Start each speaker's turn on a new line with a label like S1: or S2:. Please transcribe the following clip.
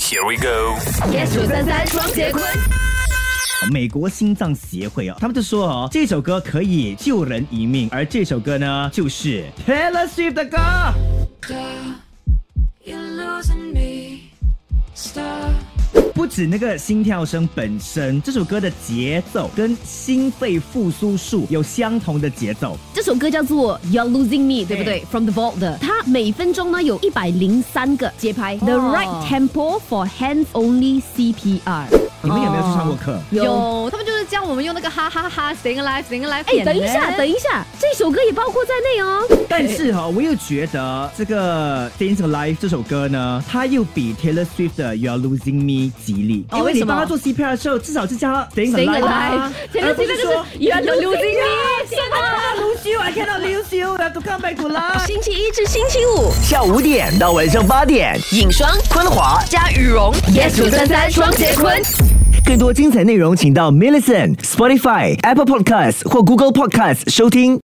S1: Here we go。
S2: Yes 933双节棍。
S3: 美国心脏协会他们就说这首歌可以救人一命，而这首歌呢就是 Taylor Swift 的歌。不止那个心跳声本身，这首歌的节奏跟心肺复苏术有相同的节奏。
S2: 这首歌叫做 You're Losing Me， 对不对？From the Vault 的，它每分钟呢有103个节拍。The right tempo for hands only CPR。
S3: 你们有没有去上过课？
S4: 有，他们就是教我们用那个哈哈哈 Staying Alive。
S2: 哎，等一下，这首歌也包括在内哦。
S3: 但是我又觉得这个 Staying Alive 这首歌呢，它又比 Taylor Swift 的 You're Losing Me 吉利，因为你帮他做 CPR 的时候，至少是叫他 Staying Alive，
S2: 而不是说 You're Losing Me。
S3: lose you，I cannot lose you， 要 come back to life。
S2: 星期一至星期五
S1: 下午5点到晚上8点，
S2: 影双、
S1: 昆华
S2: 加羽绒 ，Yes 933双节棍。
S1: 更多精彩内容，请到 Millicent、Spotify、Apple Podcasts 或 Google Podcasts 收听。